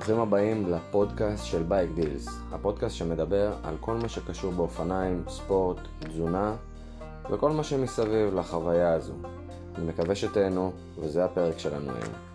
ברוכים הבאים לפודקאסט של בייק דילס, הפודקאסט שמדבר על כל מה שקשור באופניים, ספורט, תזונה וכל מה שמסביב לחוויה הזו. אני מקווה שתהנו, וזה הפרק שלנו היום.